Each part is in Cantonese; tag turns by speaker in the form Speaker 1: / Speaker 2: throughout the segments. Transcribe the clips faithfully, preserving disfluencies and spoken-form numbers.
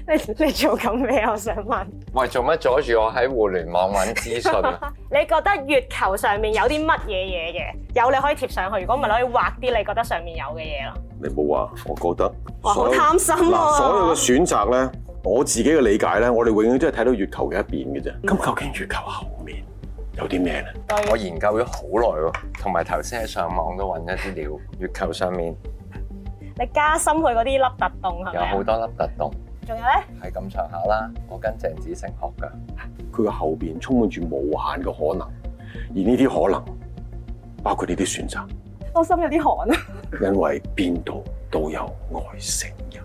Speaker 1: 你你做緊咩？我想問。
Speaker 2: 喂，做乜阻住我喺互聯網揾資訊啊？
Speaker 1: 你覺得月球上面有啲乜嘢嘢嘅？有你可以貼上去，如果唔係你可以畫啲你覺得上面有嘅嘢咯。
Speaker 3: 你冇話，我覺得。
Speaker 1: 哇，好貪心喎！
Speaker 3: 嗱，所有嘅選擇咧，我自己嘅理解咧，我哋永遠都係睇到月球嘅一邊嘅啫。咁究竟月球後面有啲咩咧？
Speaker 2: 我研究咗好耐喎，同埋頭先喺上網都揾一啲料，月球上面
Speaker 1: 你加深佢嗰啲凹凸洞係咪啊？
Speaker 2: 有好多凹凸洞。
Speaker 1: 仲有咧？
Speaker 2: 係咁上下啦，我跟鄭子誠學㗎。
Speaker 3: 佢嘅後邊充滿住無限嘅可能，而呢啲可能包括呢啲選擇。
Speaker 1: 我心有啲寒啊！
Speaker 3: 因為邊度都有外星人。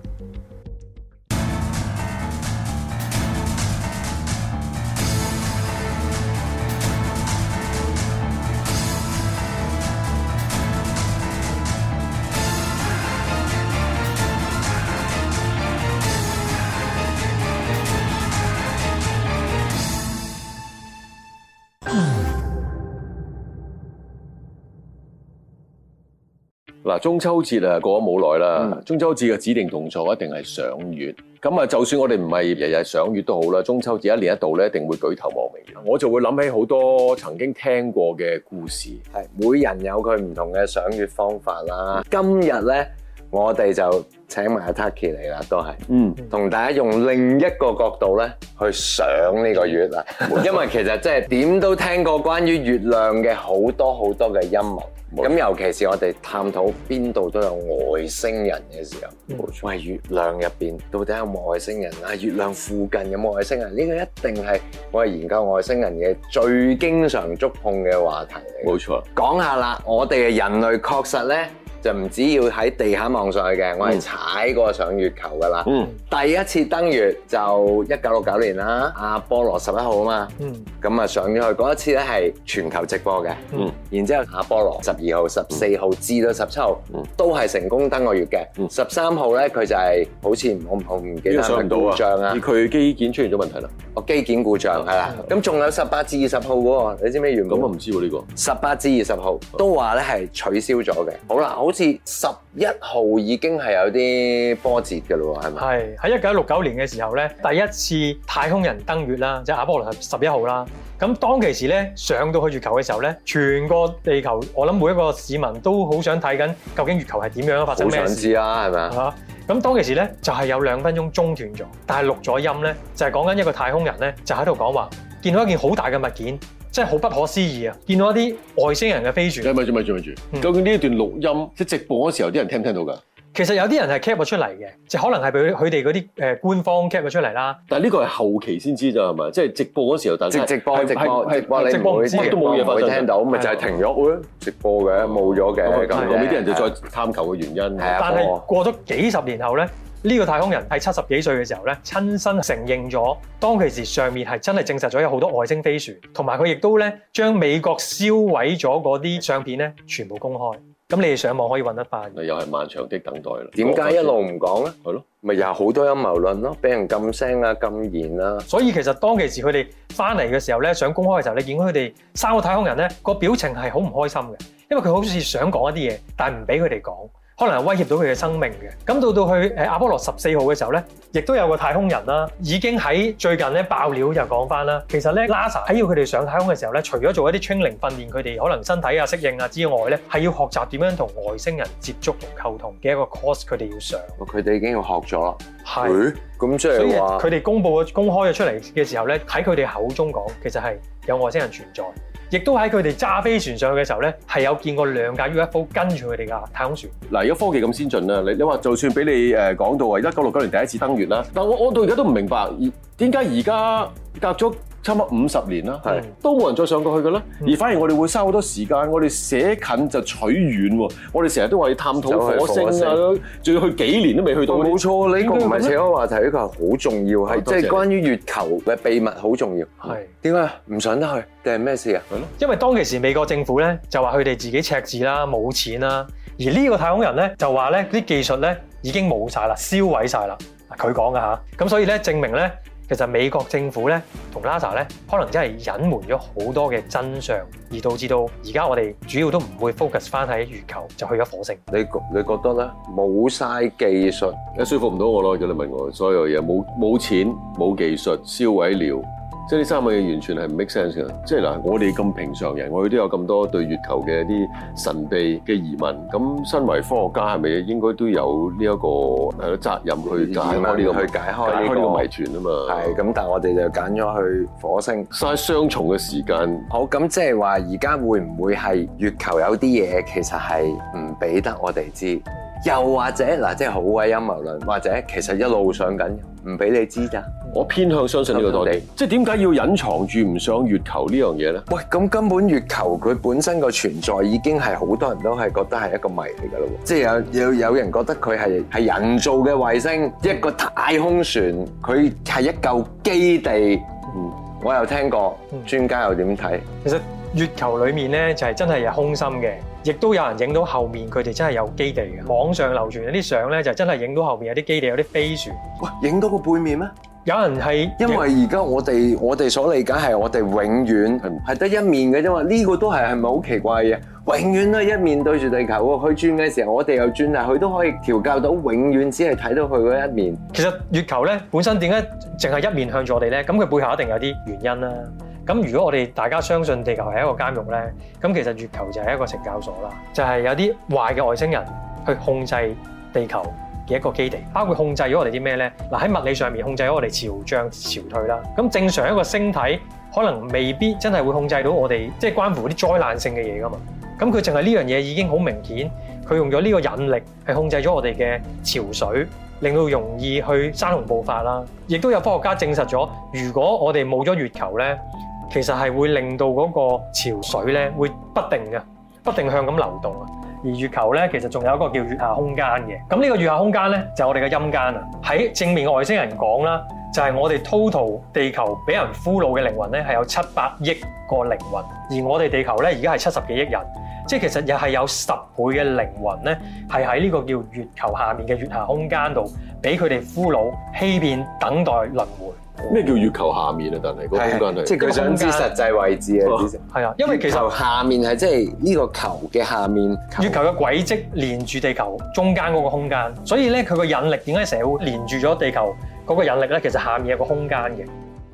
Speaker 3: 嗱，中秋節啊過咗冇耐啦，中秋節嘅指定動作一定係賞月。咁啊，就算我哋唔係日日賞月都好啦，中秋節一年一度咧，一定會舉頭望明月。我就會諗起好多曾經聽過嘅故事。
Speaker 2: 係，每人有佢唔同嘅賞月方法啦。今日咧，我哋就請埋阿 Taki 嚟啦，都係，嗯，同大家用另一個角度咧去賞呢個月啦。因為其實即係點都聽過關於月亮嘅好多好多嘅陰謀。咁尤其是我哋探討邊度都有外星人嘅時候，喂，月亮入邊到底有冇外星人啊？月亮附近有冇外星人？呢個一定係我哋研究外星人嘅最經常觸碰嘅話題嚟。
Speaker 3: 冇錯，講
Speaker 2: 下啦，我哋嘅人類確實咧就唔止要喺地下望上去嘅，我係踩過上月球噶啦。嗯，第一次登月就一九六九年啦，阿波羅十一號啊嘛。嗯，咁啊上咗去嗰一次咧係全球直播嘅。嗯，然之後阿波羅十二號、十四號至到十七號都係成功登過月嘅。嗯，十三號咧佢就係好似我我唔記得係故障啊，
Speaker 3: 佢機件出現咗問題啦。
Speaker 2: 哦，機件故障係啦。咁仲有十八至二十號嗰個，你知唔知原本？
Speaker 3: 咁啊唔知喎呢個。
Speaker 2: 十八至二十號都話咧係取消咗嘅。好啦，好似十一號已經係有啲波折嘅咯喎，係咪？
Speaker 4: 係喺一九六九年嘅時候咧，第一次太空人登月啦，即係阿波羅十一號啦。咁當其時咧上到去月球嘅時候咧，全個地球我諗每一個市民都好想睇緊究竟月球係點樣發生咩事。
Speaker 2: 好想知啊，係咪啊？
Speaker 4: 咁當其時咧就係有兩分鐘中斷咗，但係錄咗音咧就係講緊一個太空人咧就喺度講話，見到一件好大嘅物件。真係好不可思議啊！見到一啲外星人嘅飛船。
Speaker 3: 咪住咪住咪住，究竟呢一段錄音即係直播嗰時候，啲人聽唔聽到㗎？
Speaker 4: 其實有啲人係 cap 咗出嚟嘅，即係可能係俾佢哋嗰啲誒官方 cap 咗出嚟啦。
Speaker 3: 但係呢個係後期先知咋係咪？即係直播嗰時候，但係
Speaker 2: 直播直播直播
Speaker 4: 你唔會
Speaker 3: 都冇嘢發生，
Speaker 2: 聽到咪就係停咗喎，直播嘅冇咗嘅咁。
Speaker 3: 後尾啲人就再探求嘅原因。
Speaker 4: 但係過咗幾十年後咧。呢個太空人喺七十幾歲嘅時候咧，親身承認咗當其時上面係真係證實咗有好多外星飛船，同埋佢亦都咧將美國燒毀咗嗰啲相片咧全部公開。咁你哋上網可以揾得翻。
Speaker 3: 又係漫長的等待啦。
Speaker 2: 點解一路唔講咧？
Speaker 3: 係咯，
Speaker 2: 咪又好多陰謀論咯，俾人禁聲啊、禁言啊。
Speaker 4: 所以其實當其時佢哋翻嚟嘅時候咧，想公開嘅時候，你見到佢哋三個太空人咧個表情係好唔開心嘅，因為佢好似想講一啲嘢，但係唔俾佢哋講。可能係威脅到佢嘅生命嘅。咁到到去誒阿波羅十四號嘅時候咧，亦都有個太空人啦，已經喺最近咧爆料就講翻啦。其實咧 NASA 喺要佢哋上太空嘅時候咧，除咗做一啲 training 訓練佢哋可能身體啊適應啊之外咧，係要學習點樣同外星人接觸同溝通嘅一個 course，佢哋要上。
Speaker 2: 佢哋已經要學咗啦。
Speaker 4: 係。
Speaker 2: 咁即係話，
Speaker 4: 佢哋公佈咗公開咗出嚟嘅時候咧，喺佢哋口中講，其實係有外星人存在。亦都喺佢哋揸飛船上去嘅時候咧，係有見過兩架 U F O 跟住佢哋架太空船。
Speaker 3: 嗱，而家科技咁先進啦，你你話就算俾你誒講到話一九六九年第一次登月啦，但我我到而家都唔明白，點解而家隔咗差唔多五十年啦，係都冇人再上過去嘅咧，而反而我哋會嘥好多時間，我哋寫近就取遠喎，我哋成日都話要探討火星啊，仲要去幾年都未去到。
Speaker 2: 冇錯，呢個唔係扯開話題，呢個係好重要，係即係關於月球嘅秘密好重要。係點解唔上得去？定係咩事啊？係咯，
Speaker 4: 因為當其時美國政府咧就話佢哋自己赤字啦，冇錢啦，而呢個太空人咧就話咧啲技術咧已經冇晒啦，燒毀晒啦。佢講㗎吓，咁所以咧證明咧其實美國政府咧同 NASA 咧，可能真係隱瞞咗好多嘅真相，而導致到而家我哋主要都唔會 focus 翻喺月球，就去咗火星。
Speaker 2: 你你覺得咧？冇晒技術，
Speaker 3: 你說服唔到我咯。如果你問我所有嘢，冇冇錢、冇技術、燒毀料。即係呢三樣嘢完全係唔 make sense 嘅。即係嗱，我哋咁平常人，我哋都有咁多對月球嘅一啲神秘嘅疑問。咁身為科學家係咪應該都有呢、這、一個誒責任去解開呢、這個
Speaker 2: 去解開呢、這個
Speaker 3: 解開呢個謎團啊嘛？
Speaker 2: 係咁，但係我哋就揀咗去火星，
Speaker 3: 嘥雙重嘅時間。
Speaker 2: 好，咁即係話而家會唔會係月球有啲嘢其實係唔俾得我哋知？又或者嗱，即係好鬼陰謀論，或者其實一路上緊，唔俾你知咋？
Speaker 3: 我偏向相信呢個多啲。即係點解要隱藏住唔上月球呢樣嘢咧？
Speaker 2: 喂，咁根本月球佢本身個存在已經係好多人都係覺得係一個謎嚟㗎咯。即係有有有人覺得佢係係人造嘅衛星，一個太空船，佢係一嚿基地。嗯，我有聽過，專家又點睇？
Speaker 4: 其實月球裡面咧就係真係有空心嘅。亦都有人影到後面佢哋真係有基地嘅，網上流傳有啲相咧就真係影到後面有啲基地有啲飛船。
Speaker 2: 喂，影到個背面咩？
Speaker 4: 有人係
Speaker 2: 因為而家我哋我哋所理解係我哋永遠係得一面嘅啫嘛，呢個都係係咪好奇怪嘅？永遠都係一面對住地球喎，佢轉嘅時候我哋又轉，但係佢都可以調校到永遠只係睇到佢嗰一面。
Speaker 4: 其實月球咧本身點解淨係一面向住我哋咧？咁佢背後一定有啲原因啦。咁如果我哋大家相信地球係一個監獄咧，咁其實月球就係一個懲教所啦，就係有啲壞嘅外星人去控制地球嘅一個基地，包括控制咗我哋啲咩咧？嗱，喺物理上面控制咗我哋潮漲潮退啦。咁正常一個星體可能未必真係會控制到我哋，即係關乎啲災難性嘅嘢噶嘛。咁佢淨係呢樣嘢已經好明顯，佢用咗呢個引力係控制咗我哋嘅潮水，令到容易去山洪暴發啦。亦都有科學家證實咗，如果我哋冇咗月球咧，其實係會令到嗰個潮水咧會不定嘅，不定向咁流動啊。而月球咧其實仲有一個叫月下空間嘅。咁呢個月下空間咧就係我哋嘅陰間啊。喺正面嘅外星人講啦，就係我哋 total 地球俾人俘虜嘅靈魂咧係有七百億個靈魂，而我哋地球咧而家係七十幾億人，即係其實又係有十倍嘅靈魂咧係喺呢個叫月球下面嘅月下空間度俾佢哋俘虜、欺騙、等待輪迴。
Speaker 3: 咩叫月球下面啊？但係個空間係
Speaker 2: 即係佢想知實際位置啊！
Speaker 4: 係啊，因為其實
Speaker 2: 下面係即係呢個球嘅下面，
Speaker 4: 月球嘅軌跡連住地球中間嗰個空間，所以咧佢個引力點解成日會連住咗地球嗰個引力咧？其實下面有個空間嘅。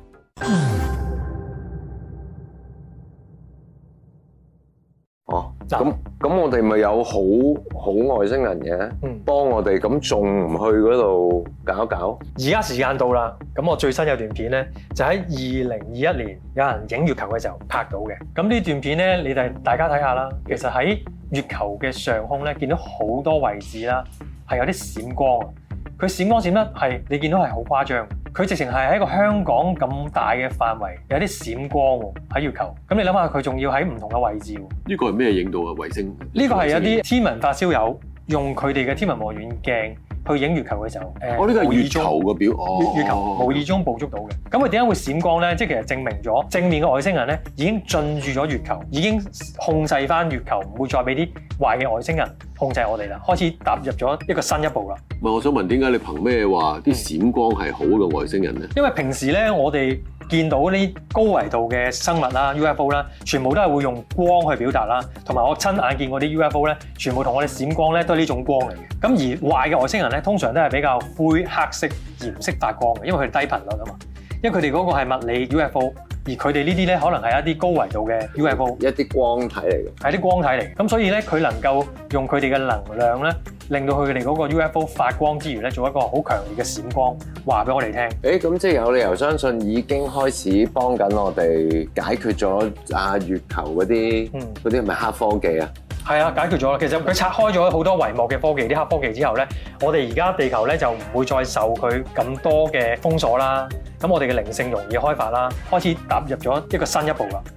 Speaker 2: 哦，咁咁我哋咪有好好外星人嘅，嗯、幫我哋，咁仲唔去嗰度搞一搞？而
Speaker 4: 家時間到啦，咁我最新有段片咧，就喺二零二一年有人影月球嘅時候拍到嘅。咁呢段片咧，你哋大家睇下啦。其實喺月球嘅上空咧，見到好多位置啦，係有啲閃光啊。佢閃光閃得係你見到係好誇張。佢直情係喺一個香港咁大嘅範圍，有啲閃光喎喺月球。咁你諗下，佢仲要喺唔同嘅位置喎。
Speaker 3: 呢個係咩影到啊？衛星？
Speaker 4: 呢個係一啲天文發燒友用佢哋嘅天文望遠鏡去影月球嘅時候，誒、呃，
Speaker 3: 哦，呢個係月球嘅表，
Speaker 4: 哦，月球無意中捕捉到嘅。咁佢點解會閃光咧？即係其實證明咗正面嘅外星人咧已經進駐咗月球，已經控制翻月球，唔會再俾啲壞嘅外星人控制我哋啦，開始踏入咗一個新一步啦。
Speaker 3: 唔係，我想問點解你憑咩話啲閃光係好嘅外星人咧？
Speaker 4: 因為平時咧，我哋見到呢高維度嘅生物啦 U F O 啦，全部都係會用光去表達啦，同埋我親眼見過啲 U F O 咧，全部同我哋閃光咧都係呢種光嚟嘅。咁而壞嘅外星人咧，通常都係比較灰黑色、鹽色發光嘅，因為佢哋低頻率啊嘛。因為佢哋嗰個係物理 U F O， 而佢哋呢啲咧可能係一啲高維度嘅 U F O，
Speaker 2: 一啲光體嚟嘅，
Speaker 4: 係啲光體嚟。咁所以咧，佢能夠用佢哋嘅能量咧，令到佢哋嗰個 U F O 發光之餘咧，做一個好強烈嘅閃光，話俾我哋聽。
Speaker 2: 誒，咁即係有理由相信已經開始幫緊我哋解決咗啊月球嗰啲嗰啲係咪黑科技啊？
Speaker 4: 係啊，解決咗啦。其實佢拆開咗好多帷幕嘅科技，啲黑科技之後咧，我哋而家地球咧就唔會再受佢咁多嘅封鎖啦。咁我哋嘅靈性容易開發啦，開始踏入咗一個新一步啦。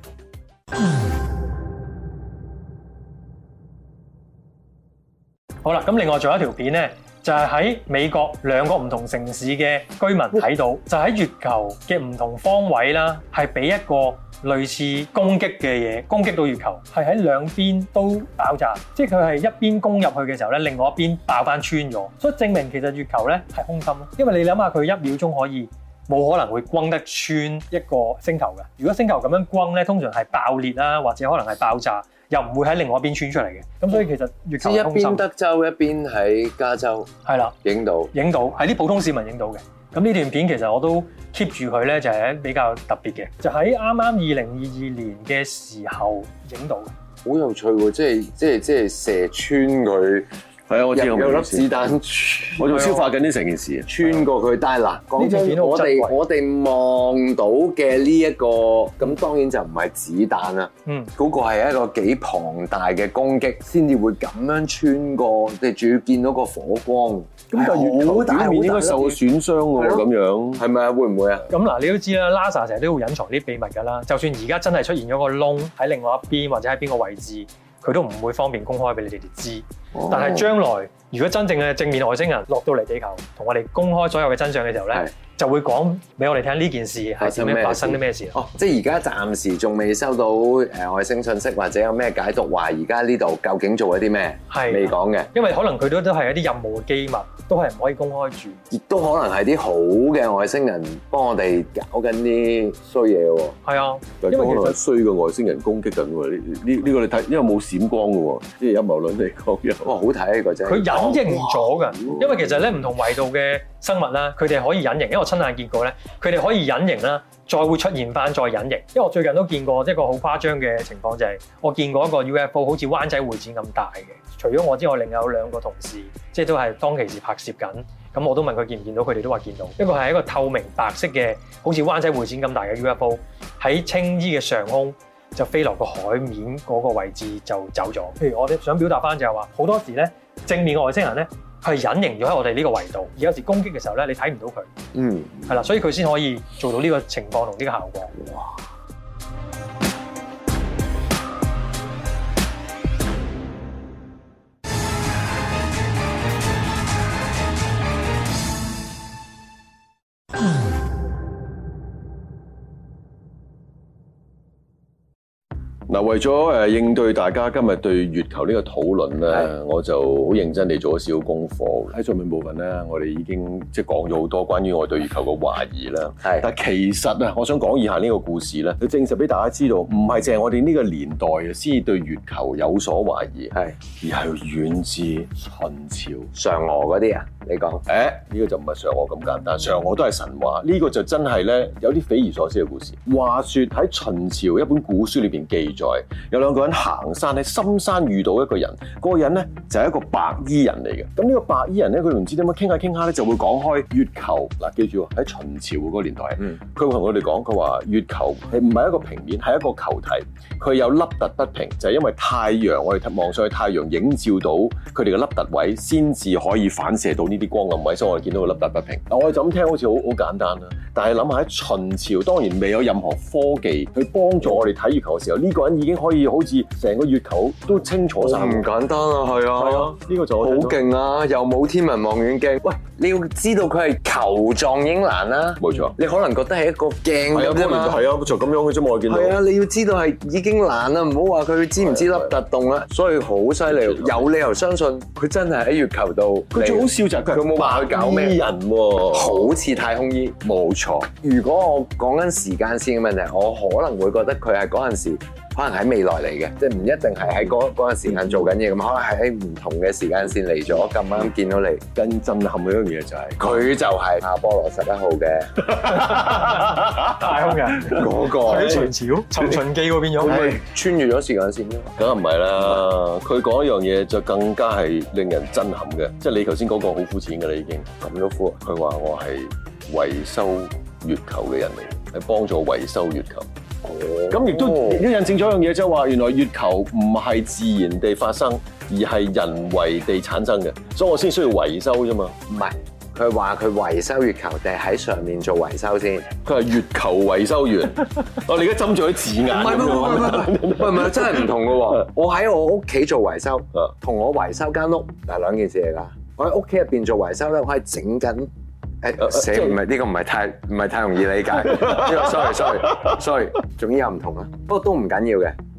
Speaker 4: 好啦，咁另外仲有一條片咧，就係喺美國兩個唔同城市嘅居民睇到，就喺月球嘅唔同方位啦，係俾一個類似攻擊嘅嘢攻擊到月球，係喺兩邊都爆炸，即係佢係一邊攻入去嘅時候咧，另外一邊爆翻穿咗，所以證明其實月球咧係空心咯。因為你諗下，佢一秒鐘可以冇可能會轟得穿一個星球嘅。如果星球咁樣轟咧，通常係爆裂啦，或者可能係爆炸，又唔會喺另外一邊穿出嚟嘅。咁所以其實月球
Speaker 2: 即係一邊德州，一邊喺加州，
Speaker 4: 係啦，
Speaker 2: 影到
Speaker 4: 影到係啲普通市民影到嘅。咁呢段片其實我都 keep 住佢咧，就係比較特別嘅，就喺啱啱二零二二年嘅時候影到嘅。
Speaker 2: 好有趣喎！即係即係即係射穿佢。係啊，我知有粒子彈，
Speaker 3: 我仲消化緊呢成件事，
Speaker 2: 穿過佢。但係嗱，講真，我哋我哋望到嘅呢一個，咁當然就唔係子彈啦。嗯，嗰個係一個幾龐大嘅攻擊，先至會咁樣穿過，即係仲要見到個火光。咁但係月球表面應該受損傷喎，咁樣係咪啊？會唔會啊？
Speaker 4: 咁嗱，你都知啦 ，NASA 成日都會隱藏啲秘密㗎啦。就算而家真係出現咗個窿喺另外一邊，或者喺邊個位置，佢都唔會方便公開俾你哋知。哦、但係將來，如果真正嘅正面外星人落到嚟地球，同我哋公開所有嘅真相嘅時候咧，就會講俾我哋聽呢件事係點樣發生啲咩事。
Speaker 2: 哦，即係而家暫時仲未收到誒外星信息，或者有咩解讀話而家呢度究竟做咗啲咩？係未講嘅，
Speaker 4: 因為可能佢都都係一啲任務嘅機密，都係唔可以公開住。
Speaker 2: 亦都可能係啲好嘅外星人幫我哋搞緊啲衰嘢喎。係
Speaker 4: 啊，
Speaker 3: 因為可能係衰嘅外星人攻擊緊喎。呢呢呢個你睇，因為冇閃光嘅喎，即係陰謀論嚟講嘅。
Speaker 2: 哇，好睇呢個真係。
Speaker 4: 佢隱形咗㗎，因為其實咧唔同維度嘅生物啦，佢哋可以隱形，因為我親眼見過咧，佢哋可以隱形啦，再會出現翻再隱形。因為我最近都見過一個好誇張嘅情況，就係我見過一個 U F O 好似灣仔會展咁大嘅，除咗我之外，另有兩個同事，即係都係當其時拍攝緊。咁我都問佢見唔見到，佢哋都話見到。一個係一個透明白色嘅，好似灣仔會展咁大嘅 U F O 喺青衣嘅上空就飛落個海面嗰個位置就走咗。譬如我哋想表達翻就係話，好多時咧正面嘅外星人咧，係隱形咗喺我哋呢個維度，而有時攻擊嘅時候咧，你睇唔到佢。嗯，係啦，所以佢先可以做到呢個情況同呢個效果。哇！
Speaker 3: 嗱，為咗誒應對大家今日對月球呢個討論咧，我就好認真地做咗少少功課。喺上面部分咧，我哋已經即係講咗好多關於我對月球嘅懷疑啦。係，但係其實啊，我想講以下呢個故事咧，佢證實俾大家知道，唔係淨係我哋呢個年代啊，先至對月球有所懷疑，係，而係遠至秦朝
Speaker 2: 嫦娥嗰啲啊。你講，
Speaker 3: 誒呢個就唔係嫦娥咁簡單，嫦娥都係神話，呢個就真係咧有啲匪夷所思嘅故事。話說喺秦朝一本古書裏邊記載，有兩個人行山喺深山遇到一個人，嗰個人咧就係一個白衣人嚟嘅。咁呢個白衣人咧，佢唔知點樣傾下傾下咧，就會講開月球。嗱，記住喺秦朝嗰個年代，嗯，佢會同我哋講，佢話月球係唔係一個平面，係一個球體，佢有凹凸不平，就係因為太陽，我哋望上去太陽映照到佢哋嘅凹凸位，先至可以反射到呢啲光暗位，所以我哋見到個凹凸不平。我哋就咁聽好似好好簡單啦，但係諗下喺秦朝，當然未有任何科技去幫助我哋睇月球嘅時候，呢個人已經可以好似成個月球都清楚晒。
Speaker 2: 唔簡單啊，係啊，
Speaker 3: 係啊，呢個就好
Speaker 2: 勁啊，又冇天文望遠鏡。喂，你要知道佢係球狀已經難啦，
Speaker 3: 冇錯。
Speaker 2: 你可能覺得係一個鏡咁啫嘛，
Speaker 3: 係啊，就咁樣嘅啫嘛，我見到。
Speaker 2: 係啊，你要知道係已經難啦，唔好話佢知唔知凹凸洞啦。所以好犀利，有理由相信佢真係喺月球度。
Speaker 3: 佢最好笑就係佢冇話佢搞咩人喎，
Speaker 2: 好似太空衣。冇錯。如果我講緊時間線嘅問題，我可能會覺得佢係嗰陣時可能喺未來嚟嘅，即係唔一定係喺嗰嗰陣時間做緊嘢，咁可能係喺唔同嘅時間線嚟咗，咁啱見到你。
Speaker 3: 更震撼嘅一樣嘢就係
Speaker 2: 佢就係阿波羅十一號嘅
Speaker 4: 太空人
Speaker 2: 嗰個
Speaker 4: 喺秦朝尋秦記嗰邊有
Speaker 2: 係穿越咗時間線咯。
Speaker 3: 梗係唔係啦？佢講一樣嘢就更加係令人震撼嘅，即係你頭先嗰個好膚淺㗎啦，已經咁都膚。佢話我係維修月球嘅人嚟，係幫助維修月球。咁亦都亦都印證咗一樣嘢，即係話原來月球唔係自然地發生，而係人為地產生嘅，所以我先需要維修啫嘛。
Speaker 2: 唔係，佢話佢維修月球定係喺上面做維修先？
Speaker 3: 佢係月球維修員。我哋而家斟咗啲字眼。唔係唔係唔
Speaker 2: 係唔係，真係唔同嘅喎。我喺我屋企做維修，同我維修間屋係兩件事嚟㗎。我喺屋企入邊做維修咧，我係整緊。誒，寫唔係呢個唔係太唔係太容易理解。呢個 sorry sorry sorry，總之有唔同啦。不過都唔緊要嘅。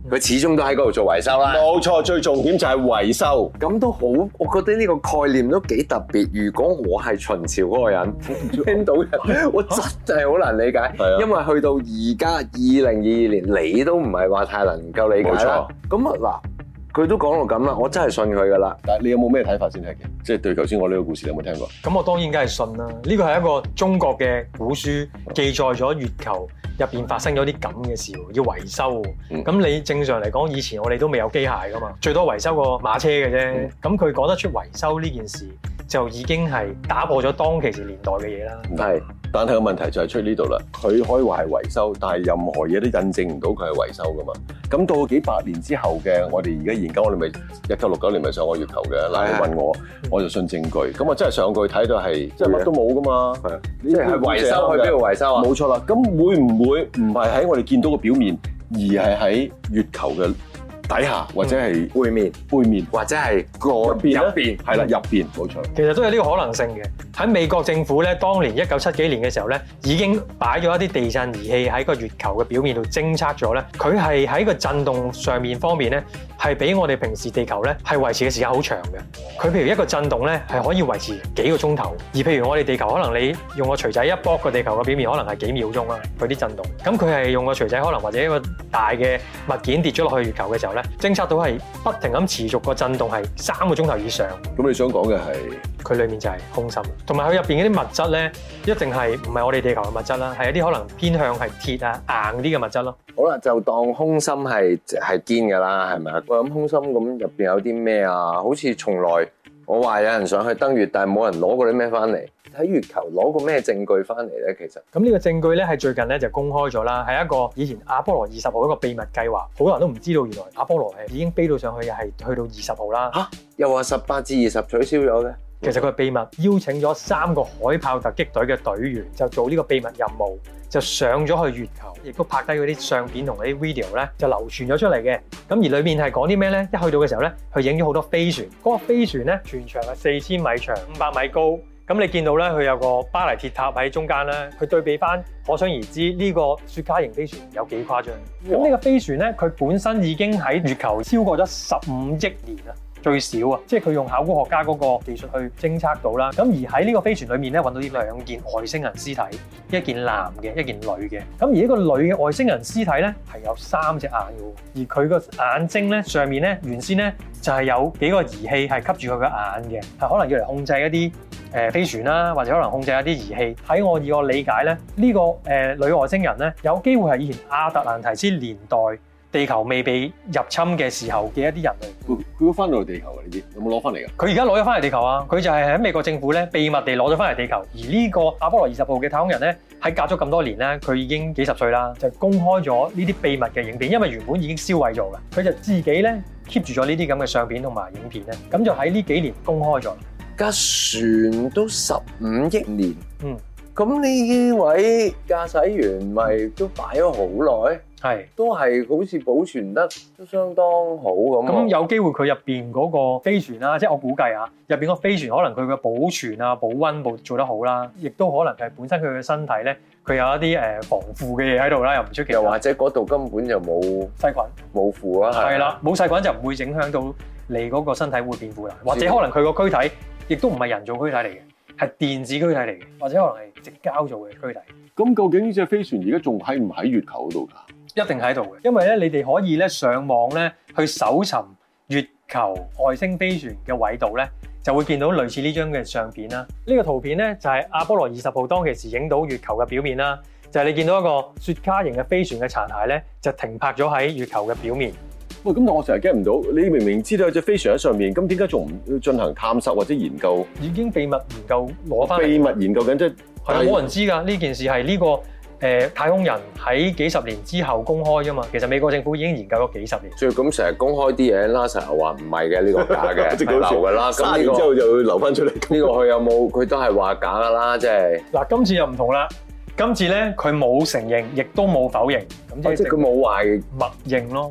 Speaker 2: 佢始終都喺嗰度做維修啦。
Speaker 3: 冇錯，最重點就係維修。
Speaker 2: 咁都好，我覺得呢個概念都幾特別。如果我係秦朝嗰個人，聽到人，我真係好難理解。
Speaker 3: 係啊，
Speaker 2: 因為去到而家二零二二年，你都唔係話太能夠理解啦。咁啊嗱，佢都講到咁啦，我真係信佢噶啦。
Speaker 3: 但係你有冇咩睇法先係嘅？即係對頭先我呢個故事，你有冇聽過？
Speaker 4: 咁我當然梗係信啦。呢個係一個中國嘅古書，記載咗月球入邊發生咗啲咁嘅事，要維修。咁、嗯、你正常嚟講，以前我哋都未有機械噶嘛，最多維修個馬車嘅啫。咁佢講得出維修呢件事，就已經係打破咗當其時年代嘅嘢啦。
Speaker 2: 係，但係個問題就係出呢度啦。佢可以話係維修，但係任何嘢都印證唔到佢係維修噶嘛。咁到幾百年之後嘅，我哋而家研究，我哋咪一九六九年咪上過月球嘅。嗱，你問我，我就信證據。咁我真係上過去睇到係，即係乜都冇噶嘛。係，即係維修去邊度維修啊？冇錯啦。咁會唔會唔係喺我哋見到嘅表面，而係喺月球嘅底下，或者係背面、背面，或者係個入邊入邊，係啦，入邊冇錯。
Speaker 4: 其實都有呢個可能性嘅。喺美國政府咧，當年一九七幾年嘅時候咧，已經擺咗一啲地震儀器喺個月球嘅表面度偵測咗咧。佢係喺個震動上面方面咧，係比我哋平時地球咧係維持嘅時間好長嘅。佢譬如一個震動咧係可以維持幾個鐘頭，而譬如我哋地球可能你用個錘仔一剝個地球嘅表面，可能係幾秒鐘啦，佢啲震動。咁佢係用個錘仔可能或者一個大嘅物件跌咗落去月球嘅時候咧，偵測到係不停咁持續個震動係三個鐘頭以上。
Speaker 3: 咁你想講嘅係
Speaker 4: 佢裡面就係空心，同埋佢入邊嗰啲物質咧，一定係唔係我哋地球嘅物質啦，係一啲可能偏向係鐵啊硬啲嘅物質咯。
Speaker 2: 好啦，就當空心係係堅㗎啦，係咪啊？我諗空心咁入邊有啲咩啊？好似從來我話有人上去登月，但係冇人攞過啲咩翻嚟。喺月球攞過咩證據翻嚟咧？其實
Speaker 4: 咁呢個證據咧係最近咧就公開咗啦，係一個以前阿波羅二十號一個秘密計劃，好多人都唔知道原來阿波羅係已經飛到上去，係去到二十號啦。
Speaker 2: 嚇！又話十八至二十取消咗嘅。
Speaker 4: 其實佢係秘密邀請咗三個海豹突擊隊嘅隊員，就做呢個秘密任務，就上咗去月球，亦都拍低嗰啲相片同嗰啲 video 咧，就流傳咗出嚟嘅。咁而裏面係講啲咩咧？一去到嘅時候咧，佢影咗好多飛船，嗰個飛船咧全長係四千米長，五百米高。咁你見到咧，佢有個巴黎鐵塔喺中間咧，佢對比翻，可想而知呢個雪茄型飛船有幾誇張。咁呢個飛船咧，佢本身已經喺月球超過咗十五億年啦。最少啊，即係佢用考古學家嗰個技術去偵測到啦。咁而喺呢個飛船裏面咧，揾到呢兩件外星人屍體，一件男嘅，一件女嘅。咁而呢個女嘅外星人屍體咧係有三隻眼嘅，而佢個眼睛咧上面咧原先咧就係有幾個儀器係吸住佢個眼嘅，係可能要嚟控制一啲誒飛船啦，或者可能控制一啲儀器。喺我以我理解咧，呢個誒女外星人咧有機會係以前亞特蘭提斯年代地球未被入侵嘅時候嘅一啲人類。
Speaker 3: 佢佢都翻到嚟地球啊？呢啲有冇攞翻嚟㗎？
Speaker 4: 佢而家攞咗翻嚟地球啊！佢就係喺美國政府咧秘密地攞咗翻嚟地球。而呢個阿波羅二十號嘅太空人咧，喺隔咗咁多年咧，佢已經幾十歲啦，就公開咗呢啲秘密嘅影片，因為原本已經燒毀咗嘅，佢就自己咧 keep 住咗呢啲咁嘅相片同埋影片咧，咁就喺呢幾年公開咗。架
Speaker 2: 船都十五億年，
Speaker 4: 嗯，
Speaker 2: 咁呢位駕駛員咪都擺咗好耐。係，都係好似保存得都相當好咁。
Speaker 4: 咁有機會佢入邊嗰個飛船啦，即係我估計啊，入邊個飛船可能佢嘅保存啊、保溫部做得好啦，亦都可能係本身佢嘅身體咧，佢有一啲誒防腐嘅嘢喺度啦，又唔出奇。
Speaker 2: 又或者嗰度根本就冇
Speaker 4: 細菌，
Speaker 2: 冇腐啊。
Speaker 4: 係啦，冇細菌就唔會影響到你嗰個身體會變腐啦。或者可能佢個軀體亦都唔係人造軀體嚟嘅，係電子軀體嚟嘅，或者可能係矽膠做嘅軀體。
Speaker 3: 咁究竟呢隻飛船而家仲喺唔喺月球嗰度㗎？
Speaker 4: 一定喺度嘅，因為咧，你哋可以咧上網咧去搜尋月球外星飛船嘅緯度咧，就會見到類似呢張嘅相片啦。呢個圖片咧就係阿波羅二十號當其時影到月球嘅表面啦，就係你見到一個雪茄型嘅飛船嘅殘骸咧，就停泊咗喺月球嘅表面。
Speaker 3: 喂，咁但我成日 get 唔到，你明明知道有隻飛船喺上面，咁點解仲唔進行探索或者研究？
Speaker 4: 已經秘密研究攞翻。秘
Speaker 3: 密研究緊即係
Speaker 4: 係冇人知㗎，呢件事係呢個。誒太空人喺幾十年之後公開㗎嘛，其實美國政府已經研究咗幾十年。
Speaker 2: 所以咁成日公開啲嘢 ，NASA 又話唔係嘅，呢個假嘅，係流㗎啦。
Speaker 3: 咁呢個之後就會流翻出嚟。
Speaker 2: 呢個佢有冇？佢都係話假㗎啦，即係。
Speaker 4: 嗱，今次又唔同啦。今次咧，佢冇承認，亦都冇否認。咁
Speaker 2: 即係佢冇話
Speaker 4: 默認咯。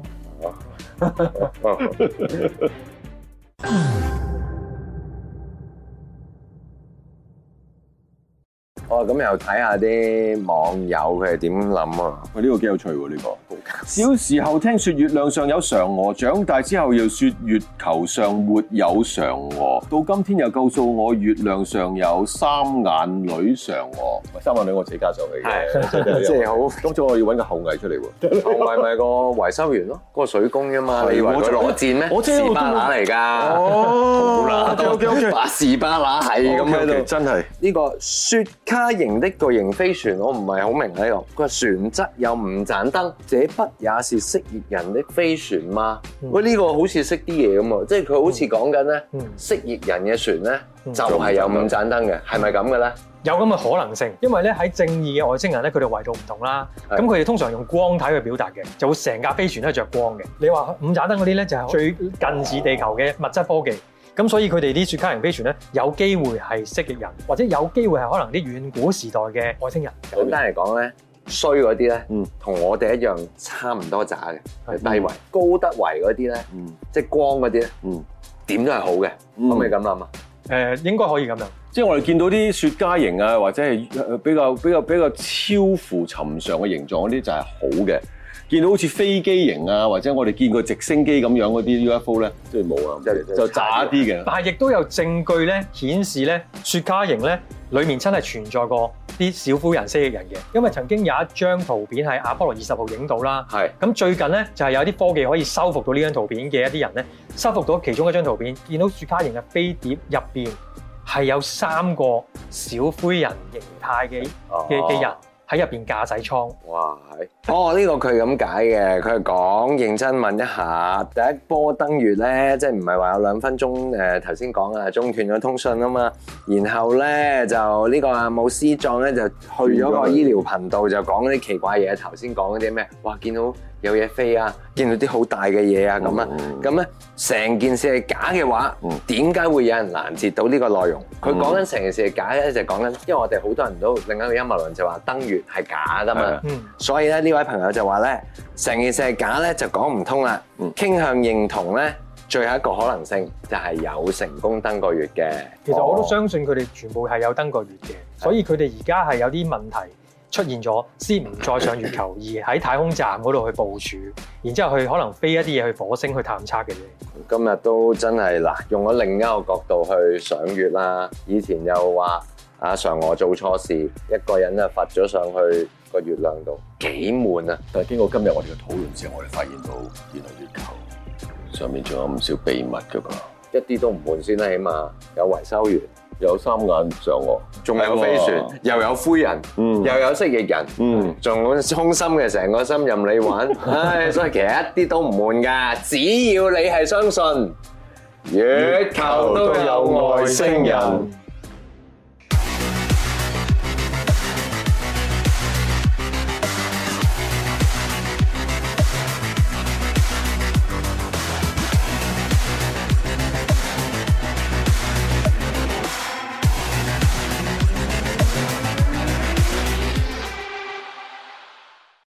Speaker 2: 哦，咁又睇下啲網友佢係點諗啊？
Speaker 3: 喂，呢個幾有趣喎，呢個。小時候聽說月亮上有嫦娥，長大之後又說月球上沒有嫦娥，到今天又告訴我月亮上有三眼女嫦娥。三眼女我自己加上去嘅，
Speaker 2: 即係好。
Speaker 3: 咁所以我要揾個後羿出嚟喎。
Speaker 2: 後羿咪個維修員咯，嗰個水工啫嘛。你以為佢攞箭咩？
Speaker 3: 我知
Speaker 2: 士巴拿嚟㗎。
Speaker 3: 哦 ，OK OK OK，
Speaker 2: 士巴拿係咁喺度，
Speaker 3: 真係
Speaker 2: 呢個雪茄型的巨型飛船，我唔係好明呢個。佢話船側有五盞燈，這不也是蜥蜴人的飛船嗎？喂，呢個好似識啲嘢咁喎，即係佢好似講緊咧，蜥蜴人嘅船咧就係有五盞燈嘅，係咪咁嘅咧？
Speaker 4: 有咁嘅可能性，因為咧喺正義嘅外星人咧，佢哋維度唔同啦。咁佢哋通常用光體去表達嘅，就會成架飛船都係着光嘅。你話五盞燈嗰啲咧，就係最近似地球嘅物質科技。咁所以佢哋啲雪茄型飛船咧，有機會係蜥蜴人，或者有機會係可能啲遠古時代嘅外星人。
Speaker 2: 簡單嚟講咧，衰嗰啲咧，同我哋一樣差唔多渣嘅，低維。高德維嗰啲咧，即係光嗰啲咧，點都係好嘅，可唔可以咁諗啊？
Speaker 4: 誒，應該可以咁樣。
Speaker 3: 即係我哋見到啲雪茄型啊，或者係比較比較比較超乎尋常嘅形狀嗰啲就係好嘅。見到好似飛機型啊，或者我哋見過直升機咁樣嗰啲 U F O 咧，即係冇啊，就就渣啲嘅。
Speaker 4: 但係亦都有證據咧顯示咧，雪茄型咧裡面真係存在過啲小灰人蜥蜴人嘅，因為曾經有一張圖片係阿波羅二十號影到啦。係。咁最近咧就係有啲科技可以修復到呢張圖片嘅一啲人咧，修復到其中一張圖片，見到雪茄型嘅飛碟入邊係有三個小灰人形態嘅嘅嘅人。喺入邊駕駛艙，
Speaker 2: 哇係！哦，呢、這個佢咁解嘅，佢係講認真問一下，第一波登月咧，即係唔係話有兩分鐘誒頭先講啊中斷咗通訊啊嘛，然後咧就呢個阿姆斯壯咧就去咗個醫療頻道就講啲奇怪嘢，頭先講嗰啲咩？哇，見到有嘢飛啊，見到啲好大嘅嘢啊咁啊，咁咧成件事係假嘅話，點解會有人攔截到呢個內容？佢講緊成件事係假咧，就講緊，因為我哋好多人都另一個陰謀論就話登月係假噶嘛，所以咧呢位朋友就話咧，成件事係假咧就講唔通啦，傾向認同咧最後一個可能性就係有成功登過月嘅。
Speaker 4: 其實我都相信佢哋全部係有登過月嘅，所以佢哋而家係有啲問題出現咗，先唔再上月球，而喺太空站嗰度去部署，然之後去可能飛一啲嘢去火星去探測嘅啫。
Speaker 2: 今日都真係嗱，用咗另一個角度去上月啦。以前又話阿嫦娥做錯事，一個人啊罰咗上去個月亮度，幾悶啊！
Speaker 3: 但係經過今日我哋嘅討論之後，我哋發現到原來月球上面仲有唔少秘密㗎噃，
Speaker 2: 一啲都唔悶先啦，起碼有維修員。
Speaker 3: 有三眼嫦娥，
Speaker 2: 仲有飛船，又有灰人，嗯、又有蜥蜴人，嗯，仲好衷心嘅成個心任你玩，唉，所以其實一啲都唔悶㗎，只要你係相信月球都有外星人。